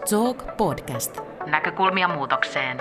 Talk Podcast. Näkökulmia muutokseen.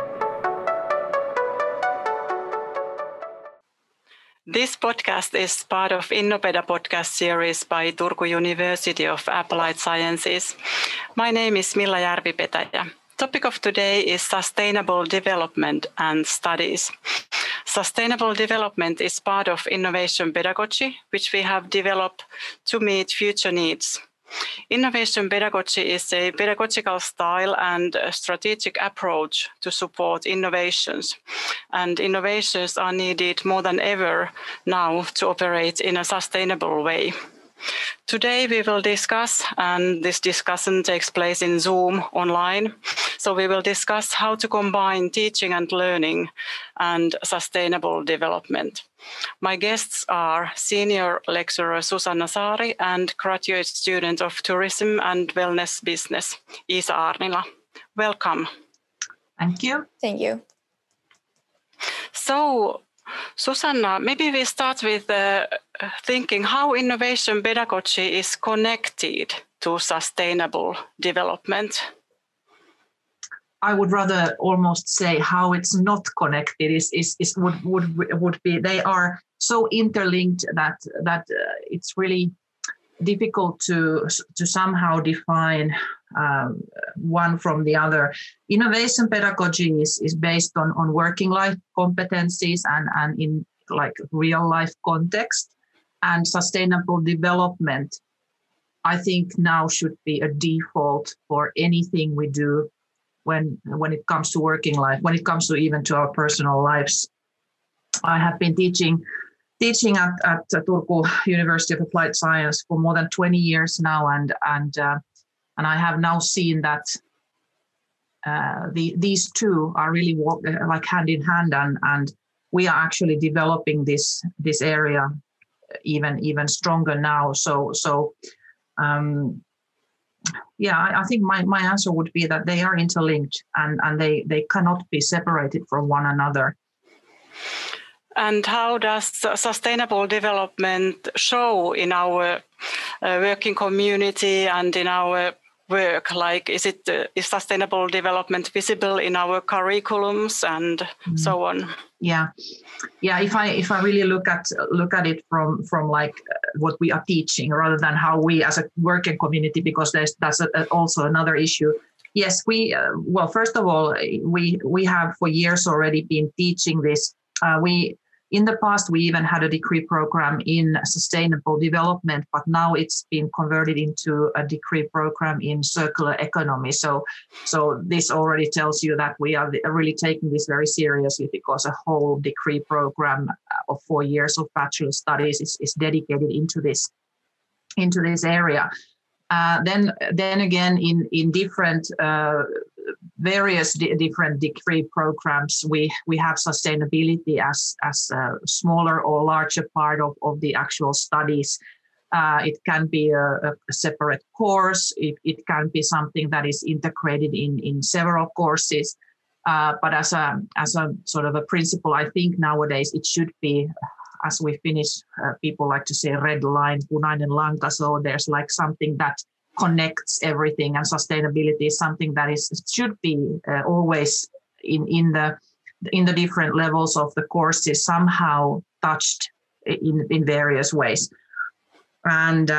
This podcast is part of Innopeda podcast series by Turku University of Applied Sciences. My name is Milla Järvi-Petäjä. Topic of today is sustainable development and studies. Sustainable development is part of innovation pedagogy, which we have developed to meet future needs. Innovation pedagogy is a pedagogical style and a strategic approach to support innovations. And innovations are needed more than ever now to operate in a sustainable way. Today we will discuss, and this discussion takes place in Zoom online. So we will discuss how to combine teaching and learning and sustainable development. My guests are senior lecturer Susanna Saari and graduate student of tourism and wellness business, Iisa Aarnila. Welcome. Thank you. Thank you. So, Susanna, maybe we start with thinking how innovation pedagogy is connected to sustainable development. I would rather almost say how it's not connected would be they are so interlinked that it's really difficult to somehow define one from the other. Innovation pedagogy is based on working life competencies and in like real life context, and sustainable development I think now should be a default for anything we do when it comes to working life, when it comes to even to our personal lives. I have been teaching at Turku University of Applied Science for more than 20 years now, and I have now seen that these two are really like hand in hand, and we are actually developing this area even stronger now. I think my answer would be that they are interlinked and they cannot be separated from one another. And how does sustainable development show in our working community and in our work? Like, is sustainable development visible in our curriculums and so on? Yeah. If I really look at it from like what we are teaching rather than how we as a working community, because that's also another issue. Yes, first of all, we have for years already been teaching this. In the past, we even had a degree program in sustainable development, but now it's been converted into a degree program in circular economy. So this already tells you that we are really taking this very seriously, because a whole degree program of 4 years of bachelor studies is dedicated into this area. Then again, in different various different degree programs, we have sustainability as a smaller or larger part of the actual studies. It can be a separate course. It can be something that is integrated in several courses. But as a sort of a principle, I think nowadays it should be, as we Finnish people like to say, red line, punainen lanka. So there's like something that connects everything, and sustainability is something that should be always in the different levels of the courses somehow touched in various ways. And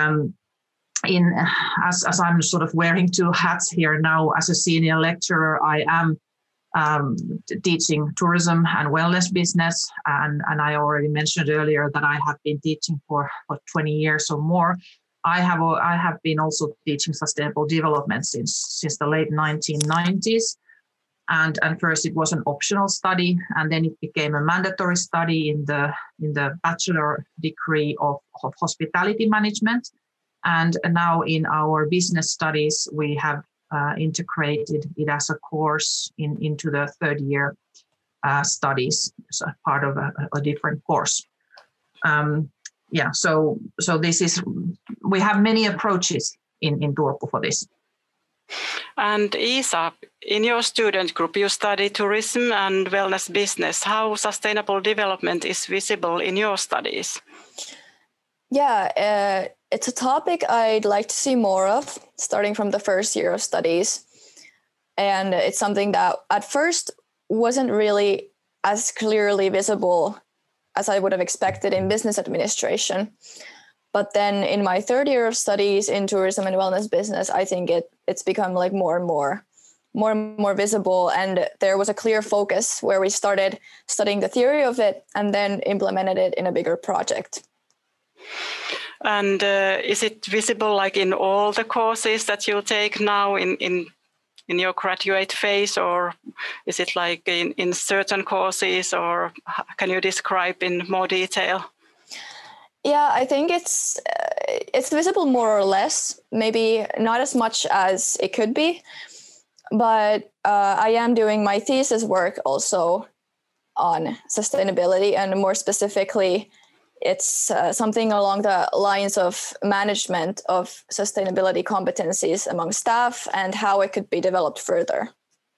as I'm sort of wearing two hats here now, as a senior lecturer, I am teaching tourism and wellness business, and I already mentioned earlier that I have been teaching for 20 years or more. I have been also teaching sustainable development since the late 1990s, and first it was an optional study, and then it became a mandatory study in the bachelor degree of hospitality management, and now in our business studies we have integrated it as a course into the third year studies, so part of a different course. So this is, we have many approaches in Turku for this. And Iisa, in your student group, you study tourism and wellness business. How sustainable development is visible in your studies? It's a topic I'd like to see more of, starting from the first year of studies. And it's something that at first wasn't really as clearly visible as I would have expected in business administration. But then in my third year of studies in tourism and wellness business, I think it's become like more and more visible. And there was a clear focus where we started studying the theory of it and then implemented it in a bigger project. And is it visible like in all the courses that you take now in your graduate phase, or is it like in certain courses, or can you describe in more detail? Yeah, I think it's visible more or less, maybe not as much as it could be, but I am doing my thesis work also on sustainability, and more specifically, it's something along the lines of management of sustainability competencies among staff and how it could be developed further.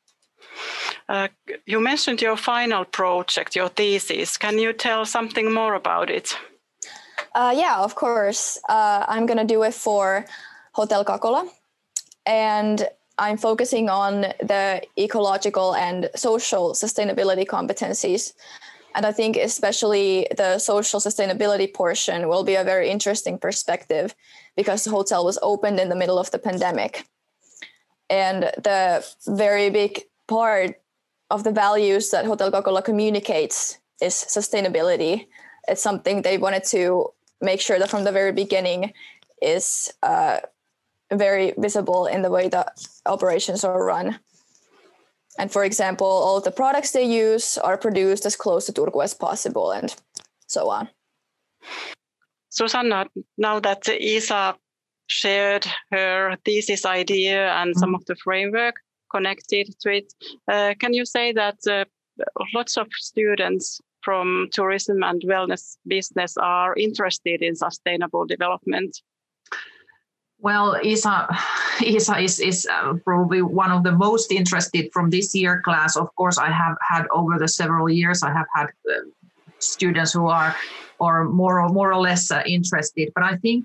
You mentioned your final project, your thesis. Can you tell something more about it? Yeah, of course. I'm going to do it for Hotel Kakola, and I'm focusing on the ecological and social sustainability competencies. And I think especially the social sustainability portion will be a very interesting perspective because the hotel was opened in the middle of the pandemic. And the very big part of the values that Hotel Kakola communicates is sustainability. It's something they wanted to make sure that from the very beginning is very visible in the way that operations are run. And for example, all of the products they use are produced as close to Turku as possible and so on. Susanna, now that Isa shared her thesis idea and some of the framework connected to it, can you say that lots of students from tourism and wellness business are interested in sustainable development? Well, Isa is probably one of the most interested from this year class. Of course, I have had over the several years, I have had students who are more or less interested. But I think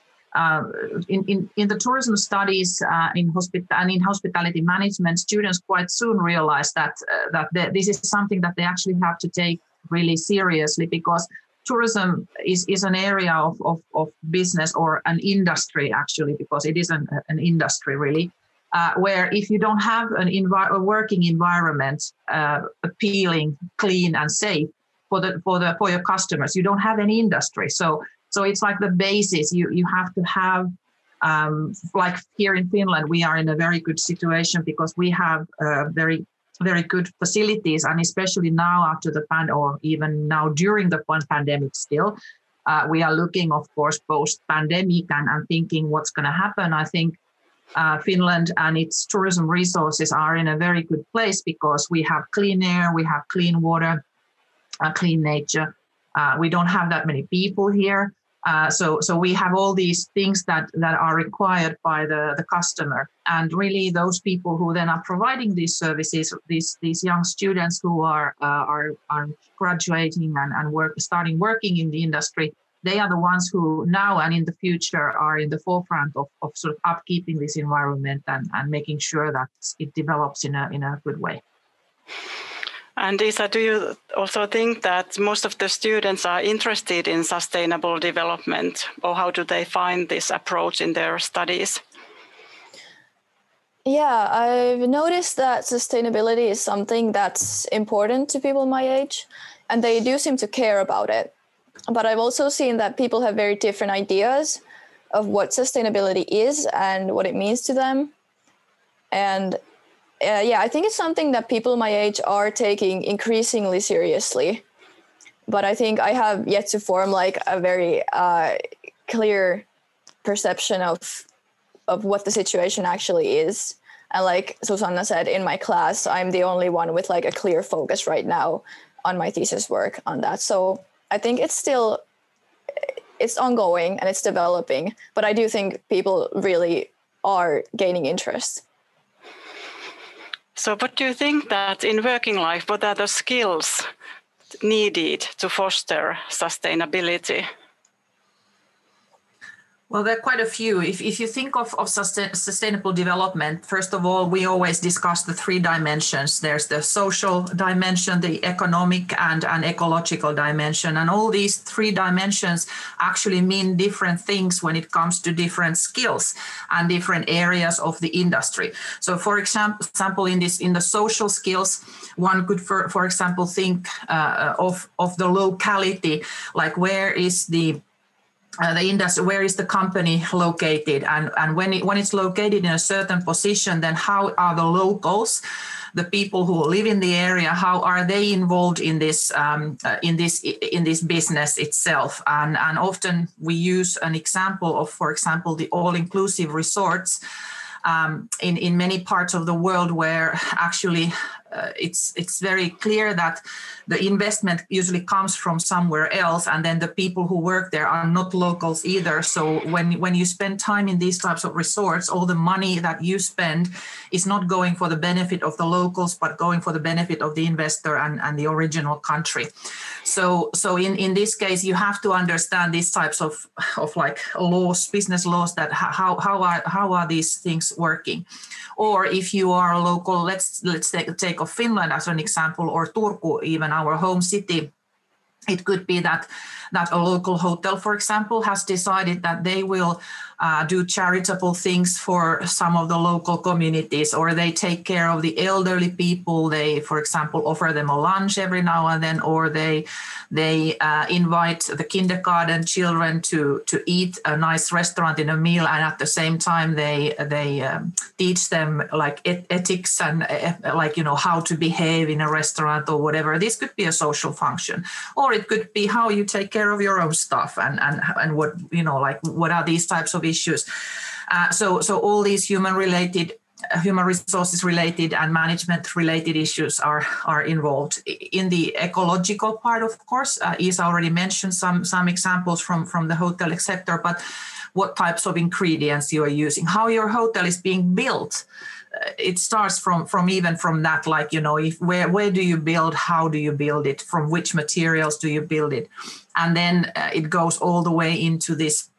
in the tourism studies in hospitality management, students quite soon realize that this is something that they actually have to take really seriously, because tourism is an area of business, or an industry actually, because it is an industry really, where if you don't have a working environment appealing, clean and safe for your customers, you don't have any industry. So it's like the basis. You have to have like here in Finland, we are in a very good situation because we have very good facilities, and especially now after the or even now during the pandemic still, we are looking, of course, post-pandemic and thinking what's going to happen. I think Finland and its tourism resources are in a very good place because we have clean air, we have clean water, clean nature. We don't have that many people here. So we have all these things that are required by the customer, and really those people who then are providing these services, these young students who are graduating and starting working in the industry, they are the ones who now and in the future are in the forefront of sort of upkeeping this environment and making sure that it develops in a good way. And Isa, do you also think that most of the students are interested in sustainable development, or how do they find this approach in their studies? Yeah, I've noticed that sustainability is something that's important to people my age, and they do seem to care about it. But I've also seen that people have very different ideas of what sustainability is and what it means to them. And I think it's something that people my age are taking increasingly seriously. But I think I have yet to form like a very clear perception of what the situation actually is. And like Susanna said, in my class, I'm the only one with like a clear focus right now on my thesis work on that. So I think it's ongoing and it's developing, but I do think people really are gaining interest. So what do you think that in working life, what are the skills needed to foster sustainability? Well, there are quite a few. If you think of sustainable development, first of all, we always discuss the three dimensions. There's the social dimension, the economic and an ecological dimension. And all these three dimensions actually mean different things when it comes to different skills and different areas of the industry. So for example, in the social skills, one could, for example, think of the locality, like where is the industry, where is the company located, and when it's located in a certain position, then how are the locals, the people who live in the area, how are they involved in this business itself? And often we use an example of, for example, the all-inclusive resorts in many parts of the world, where actually it's very clear that the investment usually comes from somewhere else, and then the people who work there are not locals either. So when you spend time in these types of resorts, all the money that you spend is not going for the benefit of the locals, but going for the benefit of the investor and the original country. So in this case, you have to understand these types of like laws, business laws, that how are these things working. Or if you are a local, let's take of Finland as an example, or Turku, even our home city. It could be that a local hotel, for example, has decided that they will do charitable things for some of the local communities, or they take care of the elderly people. They, for example, offer them a lunch every now and then, or they invite the kindergarten children to eat a nice restaurant in a meal, and at the same time they teach them like ethics and like, you know, how to behave in a restaurant or whatever. This could be a social function, or it could be how you take care of your own stuff and what, you know, like what are these types of issues. So all these human resources related and management related issues are involved. In the ecological part, of course, Isa already mentioned some examples from the hotel sector, but what types of ingredients you are using, how your hotel is being built. It starts from that, like, you know, where do you build, how do you build it, from which materials do you build it, and then it goes all the way into this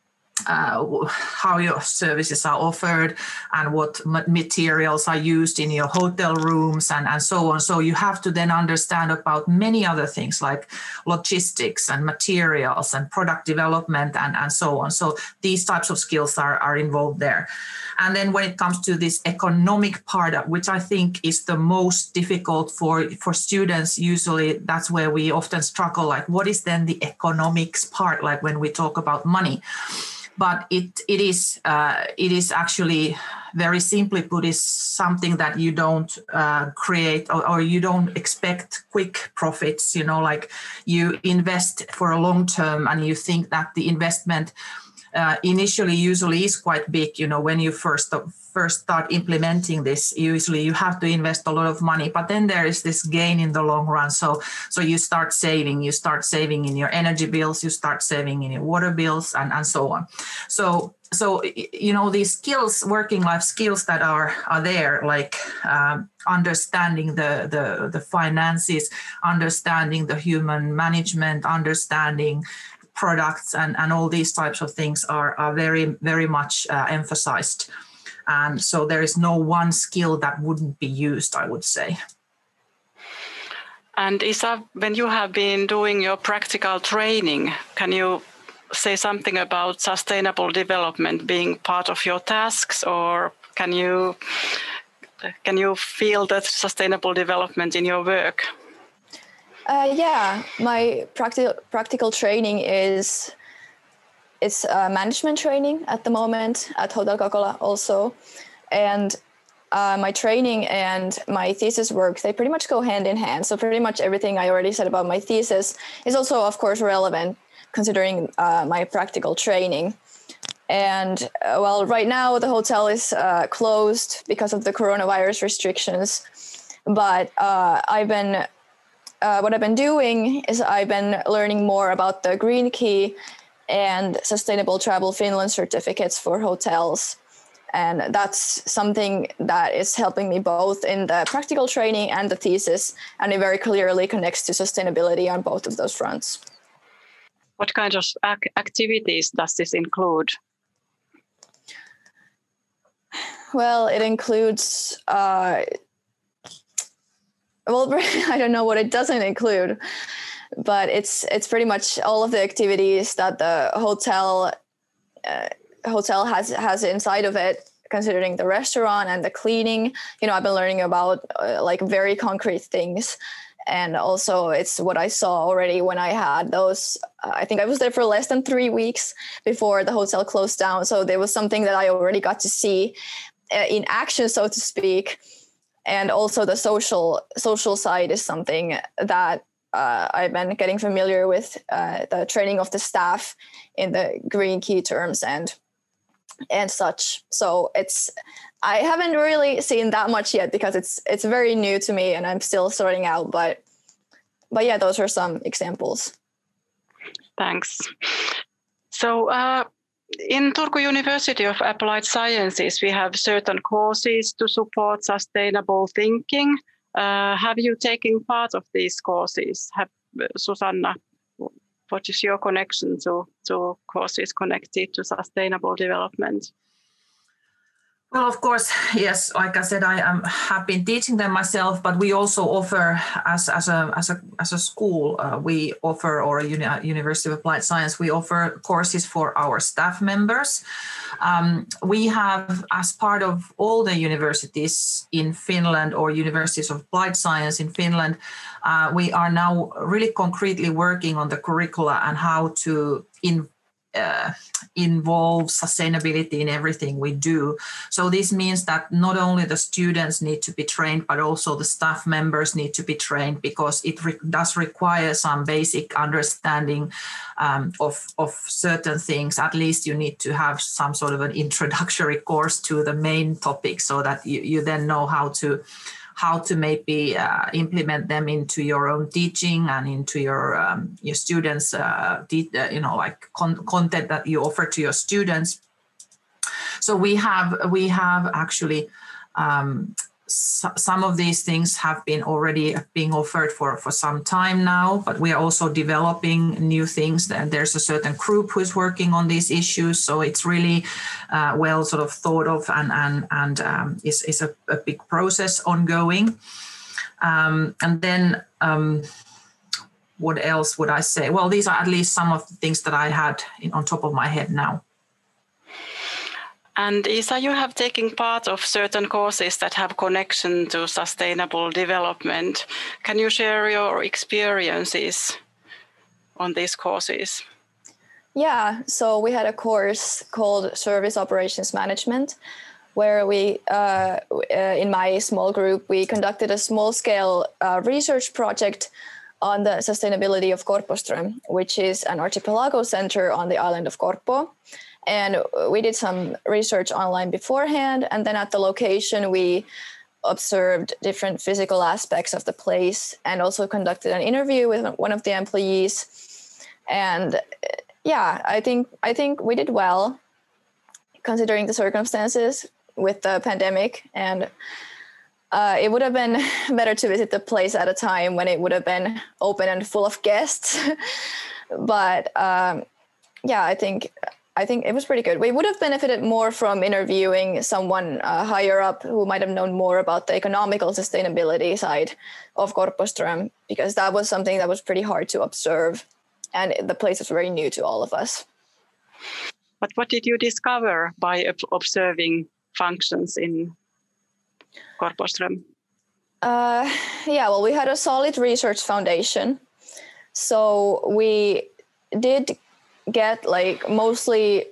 how your services are offered and what materials are used in your hotel rooms and so on. So you have to then understand about many other things like logistics and materials and product development and so on. So these types of skills are involved there. And then when it comes to this economic part, which I think is the most difficult for students, usually that's where we often struggle. Like, what is then the economics part, like when we talk about money? But it is actually, very simply put, is something that you don't create or you don't expect quick profits. You know, like you invest for a long term and you think that the investment initially usually is quite big. You know, when you first start implementing this, usually you have to invest a lot of money, but then there is this gain in the long run. So you start saving in your energy bills, you start saving in your water bills and so on. So you know, these skills, working life skills that are there, like understanding the finances, understanding the human management, understanding products and all these types of things are very, very much emphasized. And so there is no one skill that wouldn't be used, I would say. And Isa, when you have been doing your practical training, can you say something about sustainable development being part of your tasks, or can you feel that sustainable development in your work? Yeah, my practical training is management training at the moment at Hotel Kakola also. And my training and my thesis work, they pretty much go hand in hand. So pretty much everything I already said about my thesis is also, of course, relevant considering my practical training. And well, right now the hotel is closed because of the coronavirus restrictions. But what I've been doing is I've been learning more about the Green Key and Sustainable Travel Finland certificates for hotels. And that's something that is helping me both in the practical training and the thesis, and it very clearly connects to sustainability on both of those fronts. What kind of activities does this include? Well, it includes, I don't know what it doesn't include, but it's pretty much all of the activities that the hotel has inside of it, considering the restaurant and the cleaning. I've been learning about like very concrete things. And also it's what I saw already when I had those, I think I was there for less than 3 weeks before the hotel closed down. So there was something that I already got to see in action, so to speak. And also the social side is something that I've been getting familiar with, the training of the staff in the green key terms and such. So I haven't really seen that much yet because it's very new to me and I'm still sorting out. But yeah, those are some examples. Thanks. So in Turku University of Applied Sciences, we have certain courses to support sustainable thinking. Have you taken part of these courses? Susanna, what is your connection to courses connected to sustainable development? Well, of course, yes. Like I said, I have been teaching them myself, but we also offer, as a school, we offer, or a University of Applied Science, we offer courses for our staff members. We have, as part of all the universities in Finland or universities of applied science in Finland, we are now really concretely working on the curricula and how to involve sustainability in everything we do. So this means that not only the students need to be trained, but also the staff members need to be trained, because it does require some basic understanding of certain things. At least you need to have some sort of an introductory course to the main topic, so that you then know how to maybe implement them into your own teaching and into your students, content that you offer to your students. So we have actually some of these things have been already being offered for some time now, but we are also developing new things. And there's a certain group who is working on these issues. So it's really well sort of thought of and is a big process ongoing. And then what else would I say? Well, these are at least some of the things that I had on top of my head now. And Isa, you have taken part of certain courses that have connection to sustainable development. Can you share your experiences on these courses? Yeah, so we had a course called Service Operations Management, where we, in my small group, we conducted a small-scale research project on the sustainability of Korpoström, which is an archipelago center on the island of Korpo. And we did some research online beforehand, and then at the location we observed different physical aspects of the place and also conducted an interview with one of the employees. And yeah, I think we did well considering the circumstances with the pandemic, and it would have been better to visit the place at a time when it would have been open and full of guests. But yeah, I think it was pretty good. We would have benefited more from interviewing someone higher up who might have known more about the economical sustainability side of Korpoström, because that was something that was pretty hard to observe, and the place was very new to all of us. But what did you discover by observing functions in Korpoström? Yeah, well, we had a solid research foundation. So we did get mostly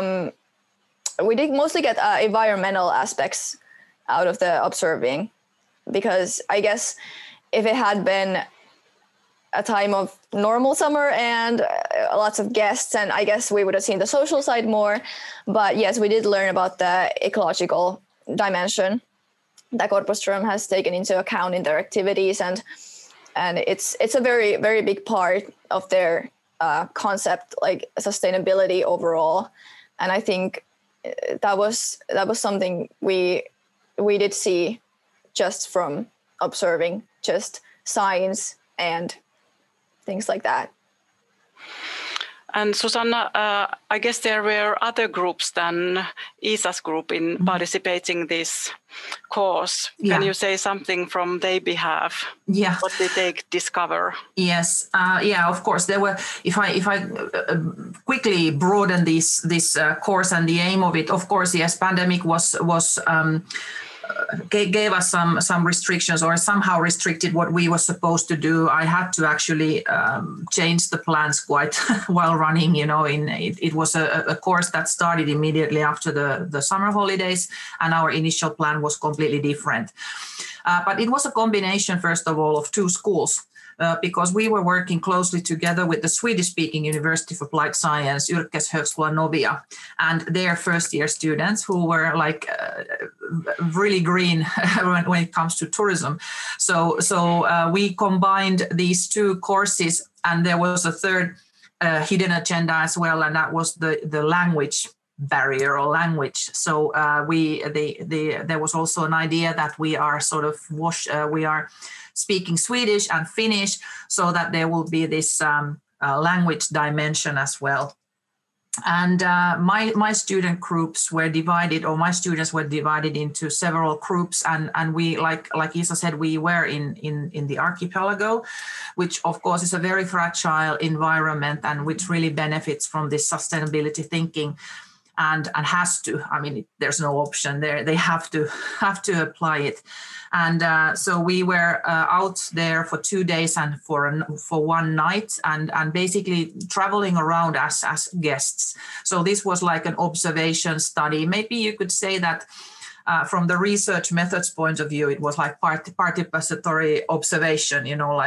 get environmental aspects out of the observing, because I guess if it had been a time of normal summer and lots of guests, and I guess we would have seen the social side more. But yes, we did learn about the ecological dimension that Korpoström has taken into account in their activities, and it's a very, very big part of their concept, like sustainability overall. And I think that was something we did see just from observing just signs and things like that. And Susanna, I guess there were other groups than Isa's group in participating this course. Yeah. Can you say something from their behalf? Yeah. What did they discover? Yes. Of course. There were. If I quickly broaden this course and the aim of it, of course, yes, pandemic was gave us some restrictions, or somehow restricted what we were supposed to do. I had to actually change the plans quite while running. It was a course that started immediately after the summer holidays, and our initial plan was completely different. But it was a combination, first of all, of two schools. Because we were working closely together with the Swedish-speaking University of Applied Science, Yrkeshögskolan Novia, and their first-year students who were really green when it comes to tourism. So we combined these two courses, and there was a third hidden agenda as well, and that was the language barrier or language. So there was also an idea that we are we are speaking Swedish and Finnish, so that there will be this language dimension as well. And my student groups were divided, or my students were divided into several groups, and we, like Isa said, we were in the archipelago, which of course is a very fragile environment and which really benefits from this sustainability thinking. And has to. I mean, there's no option there. They have to apply it. And so we were out there for 2 days and for one night, and basically traveling around as guests. So this was like an observation study. Maybe you could say that from the research methods point of view, it was like participatory observation.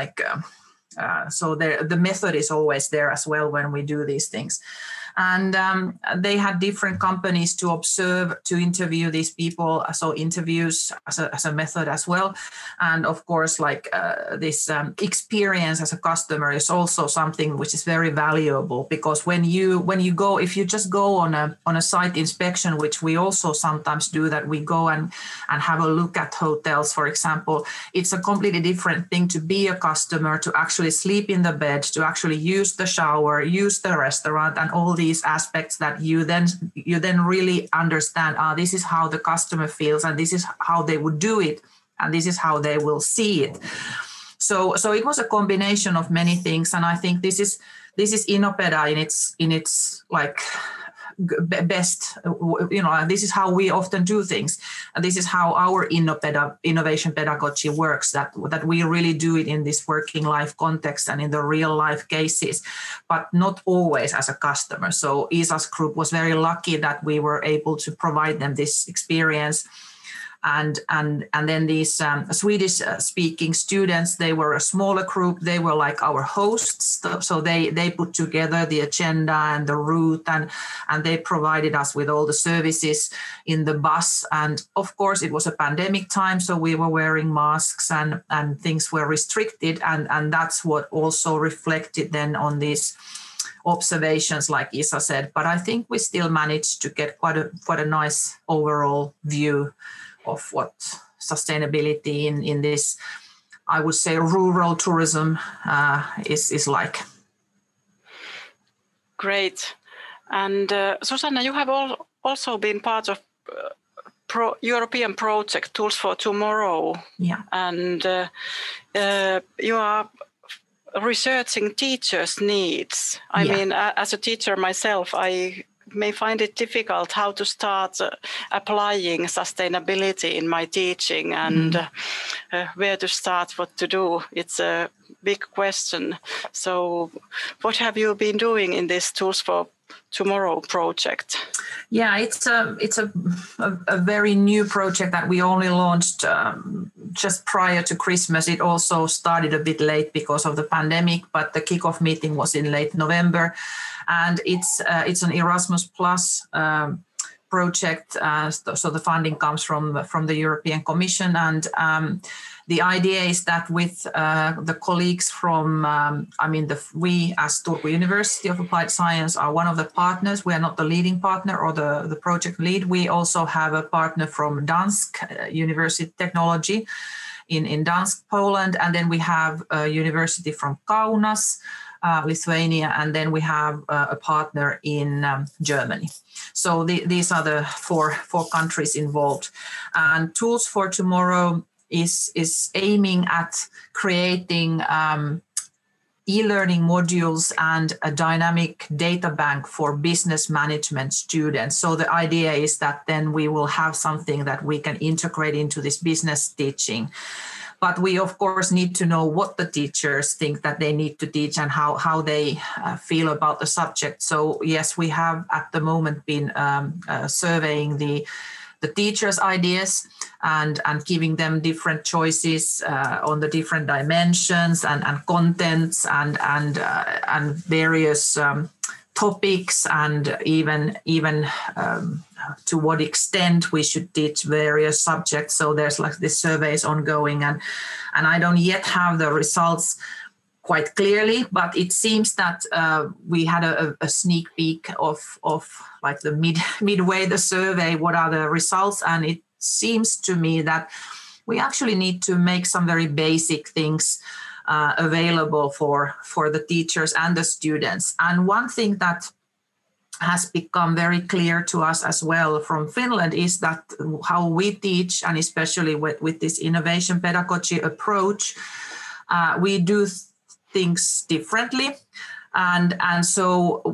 So the method is always there as well when we do these things. And they had different companies to observe, to interview these people. So interviews as a method as well. And of course, this experience as a customer is also something which is very valuable, because when you go, if you just go on a site inspection, which we also sometimes do, that we go and have a look at hotels, for example, it's a completely different thing to be a customer, to actually sleep in the bed, to actually use the shower, use the restaurant, and all these aspects that you then really understand. This is how the customer feels, and this is how they would do it, and this is how they will see it. So it was a combination of many things, and I think this is Innopeda in its best. This is how we often do things, and this is how our Innopeda innovation pedagogy works. That we really do it in this working life context and in the real life cases, but not always as a customer. So Isa's group was very lucky that we were able to provide them this experience. And then these Swedish speaking students, they were a smaller group. They were like our hosts. So they put together the agenda and the route, and they provided us with all the services in the bus. And of course, it was a pandemic time, so we were wearing masks and things were restricted. And that's what also reflected then on these observations, like Isa said. But I think we still managed to get quite a nice overall view of what sustainability in this, I would say, rural tourism is like. Great. And Susanna, you have also been part of European project Tools for Tomorrow. Yeah. And you are researching teachers' needs. I mean, as a teacher myself, I may find it difficult how to start applying sustainability in my teaching, and where to start, what to do. It's a big question. So what have you been doing in this Tools for Tomorrow project? Yeah, it's a very new project that we only launched just prior to Christmas. It also started a bit late because of the pandemic, but the kickoff meeting was in late November, and it's an Erasmus Plus project. So the funding comes from the European Commission, and the idea is that with the colleagues from, we as Turku University of Applied Science are one of the partners. We are not the leading partner or the project lead. We also have a partner from Dansk University Technology in Dansk, Poland. And then we have a university from Kaunas, Lithuania, and then we have a partner in Germany. So these are the four countries involved. And Tools for Tomorrow is aiming at creating e-learning modules and a dynamic data bank for business management students. So the idea is that then we will have something that we can integrate into this business teaching. But we, of course, need to know what the teachers think that they need to teach and how they feel about the subject. So yes, we have at the moment been surveying the teachers' ideas and giving them different choices on the different dimensions and contents and various topics, and even to what extent we should teach various subjects. So there's like this survey is ongoing, and I don't yet have the results quite clearly, but it seems that we had a sneak peek of like the midway the survey, what are the results, and it seems to me that we actually need to make some very basic things available for the teachers and the students. And one thing that has become very clear to us as well from Finland is that how we teach, and especially with this innovation pedagogy approach, we do things differently. And so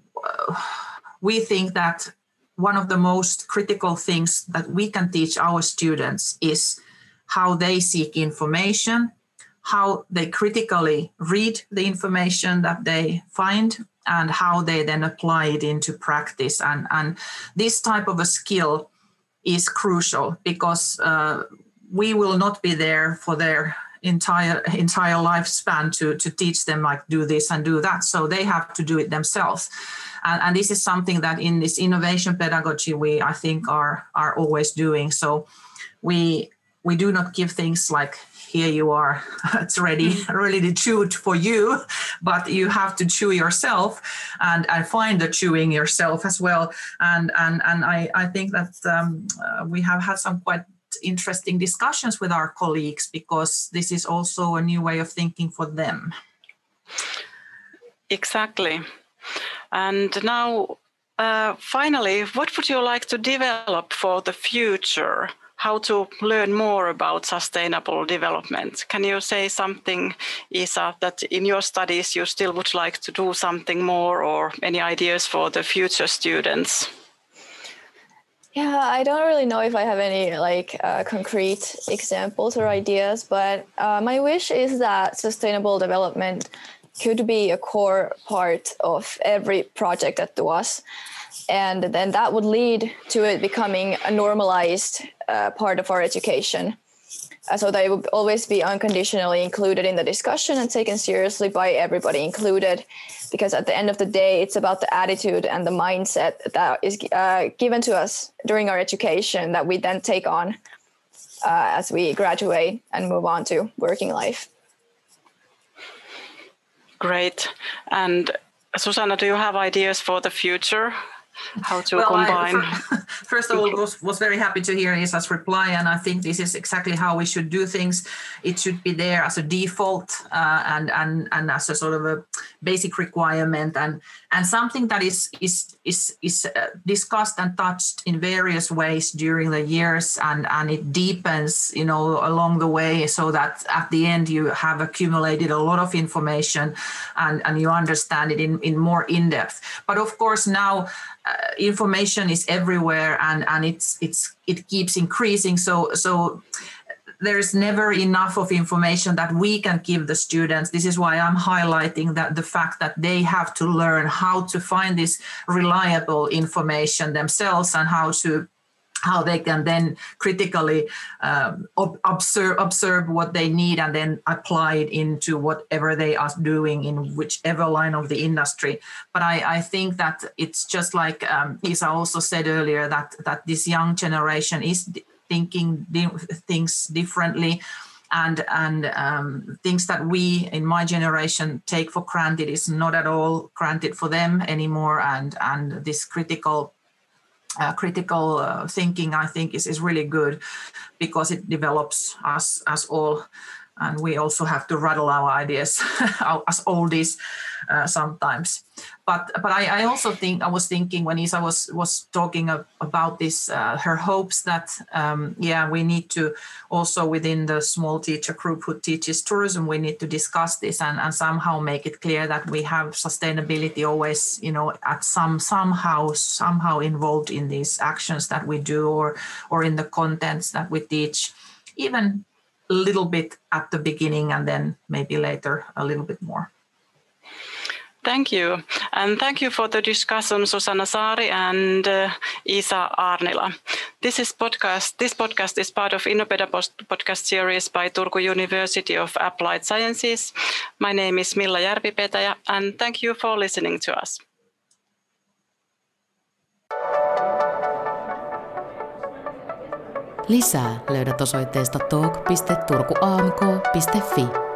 we think that one of the most critical things that we can teach our students is how they seek information, how they critically read the information that they find, and how they then apply it into practice. And this type of a skill is crucial because we will not be there for their entire lifespan to teach them like do this and do that. So they have to do it themselves. And this is something that in this innovation pedagogy we, I think, are always doing. So we do not give things like, here you are, it's ready to chew for you, but you have to chew yourself and find the chewing yourself as well. And I think that we have had some quite interesting discussions with our colleagues because this is also a new way of thinking for them. Exactly. And now, finally, what would you like to develop for the future? How to learn more about sustainable development? Can you say something, Isa, that in your studies you still would like to do something more, or any ideas for the future students? Yeah, I don't really know if I have any concrete examples or ideas, but my wish is that sustainable development could be a core part of every project at Tuas. And then that would lead to it becoming a normalized part of our education. So that it would always be unconditionally included in the discussion and taken seriously by everybody included. Because at the end of the day, it's about the attitude and the mindset that is given to us during our education that we then take on as we graduate and move on to working life. Great. And Susanna, do you have ideas for the future? How to combine? First of all, was very happy to hear Isa's reply, and I think this is exactly how we should do things. It should be there as a default and as a sort of a basic requirement, and something that is discussed and touched in various ways during the years, and it deepens, along the way, so that at the end you have accumulated a lot of information and you understand it in more in depth. But of course now. Information is everywhere, and it keeps increasing. So there's never enough of information that we can give the students. This is why I'm highlighting that the fact that they have to learn how to find this reliable information themselves and how they can then critically observe what they need and then apply it into whatever they are doing in whichever line of the industry. But I think that it's just like Isa also said earlier, that this young generation is thinking things differently, and things that we in my generation take for granted is not at all granted for them anymore. And this critical thinking, I think, is really good because it develops us all and we also have to rattle our ideas as oldies sometimes. But I also think, I was thinking when Isa was talking about this, her hopes that we need to also within the small teacher group who teaches tourism, we need to discuss this and somehow make it clear that we have sustainability always, at somehow involved in these actions that we do or in the contents that we teach, even a little bit at the beginning and then maybe later a little bit more. Thank you. And thank you for the discussion, Susanna Saari and Isa Aarnila. This podcast is part of Innopeda podcast series by Turku University of Applied Sciences. My name is Milla Järvi-Petäjä, and thank you for listening to us. Lisää löydät osoitteesta talk.turkuamk.fi.